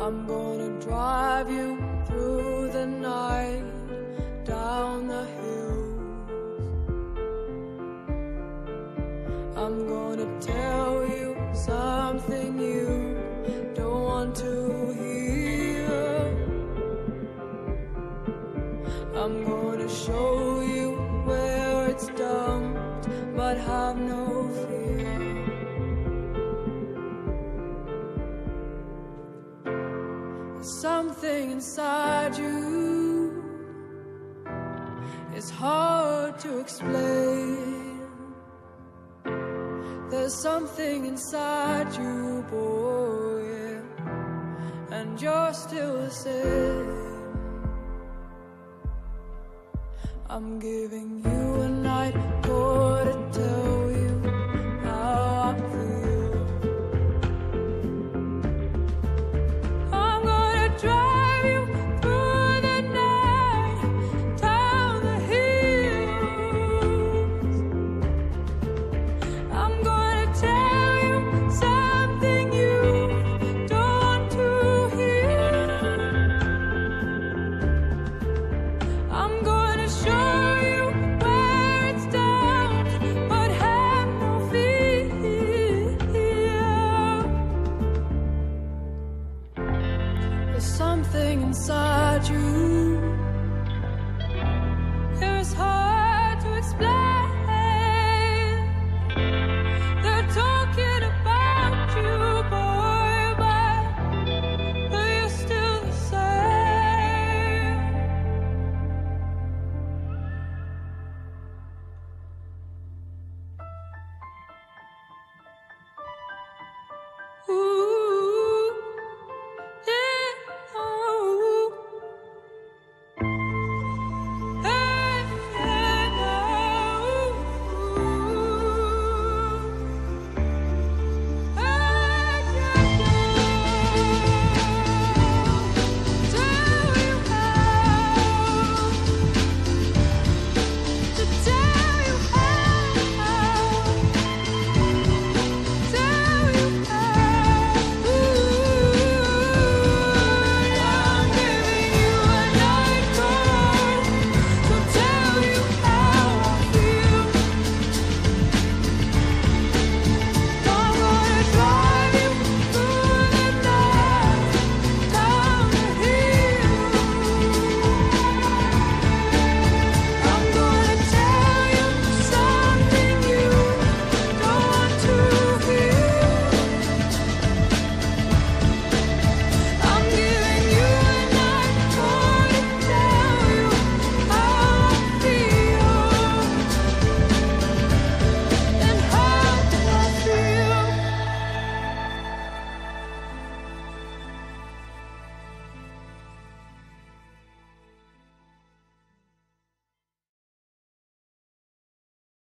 I'm gonna drive you through the night, down the hills. I'm gonna tell you something you don't want to hear. I'm gonna show you where it's dumped, but have no fear. Something inside you is hard to explain. There's something inside you, boy, and you're still the same. I'm giving you an